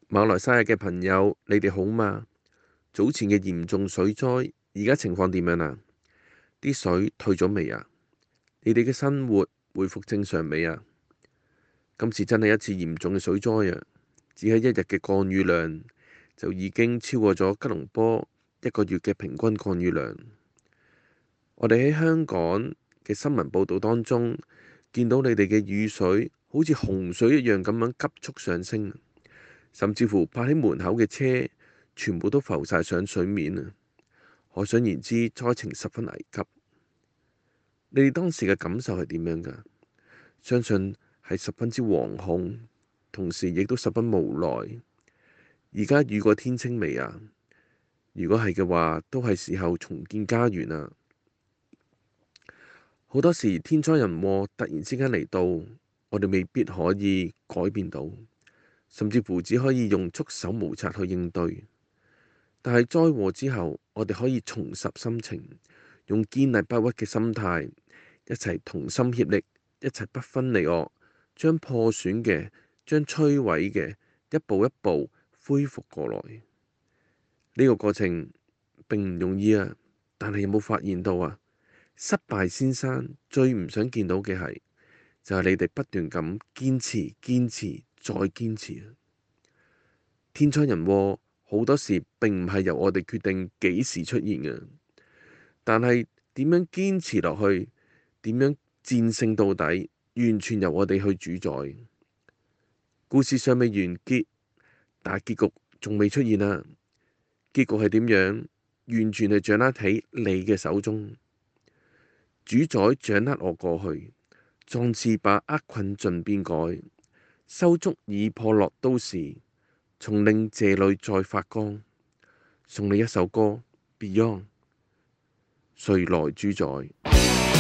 馬來西亞嘅朋友，你哋好嗎？早前嘅嚴重水災，而家情況點樣啊？啲水退咗未啊？你哋嘅生活恢復正常未啊？今次真係一次嚴重嘅水災啊！只係一日嘅降雨量就已經超過咗吉隆坡一個月嘅平均降雨量。我哋喺香港嘅新聞報導當中，見到你哋嘅雨水好似洪水一樣咁樣急速上升，甚至乎泊喺門口嘅車全部都浮晒上水面啊！可想而知，災情十分危急。你哋當時嘅感受係點樣㗎？相信係十分之惶恐，同時亦都十分無奈。而家雨過天青未啊？如果係嘅話，都係時候重建家園啊！好多時天災人禍突然之間嚟到，我哋未必可以改變到，甚至乎只可以用束手無策去應對。但係災禍之後，我哋可以重拾心情，用堅毅不屈嘅心態，一齊同心協力，一齊不分離惡，將破損嘅、將摧毀嘅一步一步恢復過來。呢個過程並唔容易啊！但係有冇發現到啊？失敗先生最唔想見到嘅係，就係你哋不斷咁堅持、堅持再堅持。天災人禍好多時並唔係由我哋決定幾時出現嘅，但係點樣堅持落去，點樣戰勝到底，完全由我哋去主宰。故事尚未完結，但係結局仲未出現啊！結局係點樣，完全係掌握喺你嘅手中。主宰掌握我過去，壯士把厄困盡變改，修築已破落都市，重令這裏再發光。送你一首歌 Beyond， 誰來主宰？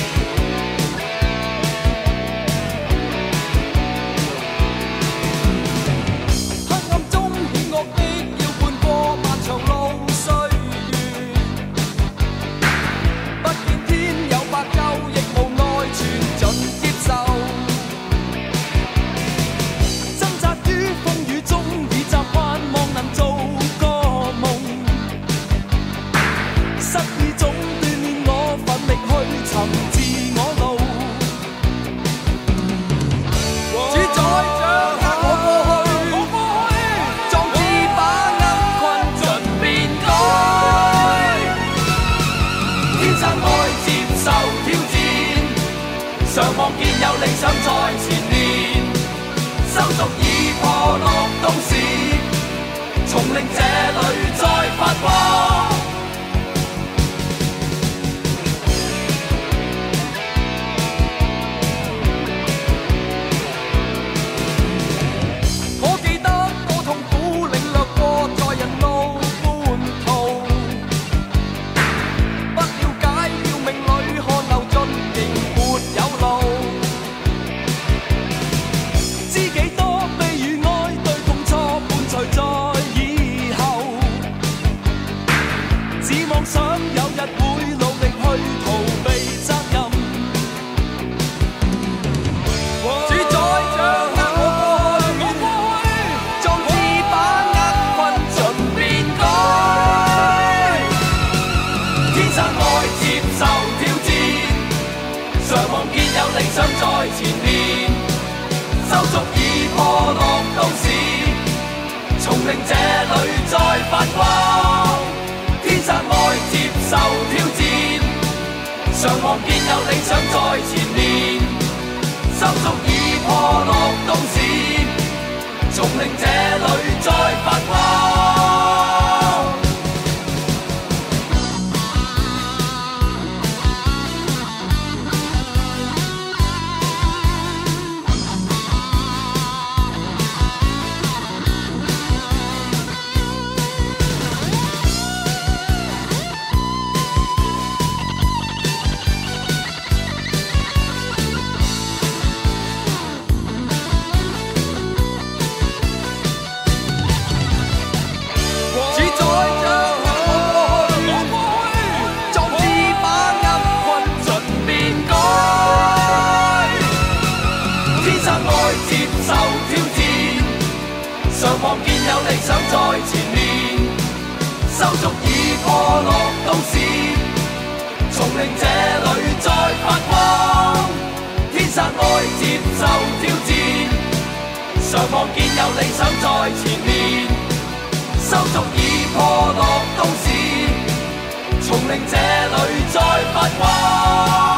常望見有理想在前面，修築已破落都市，重令這裏再發光。我記得我痛苦領略過在人路半途，不了解要命裏汗流盡，仍沒有路。知幾多悲與哀對痛楚伴隨在以後，只妄想有日會努力去逃避責任。主宰掌握我過去，壯志把厄困盡變改。天生愛接受挑戰，常望見有理想在前面，修築已破落都市，重令這裏再發光。天生愛接受挑戰，常望見有理想在前面，修築已破落都市，重令這裏再發光。 常望見有理想在前面，收足已破落都市，從靈這裏再發光，天生愛接受挑戰，常望見有理想在前面，收足已破落都市，從靈這裏再發光。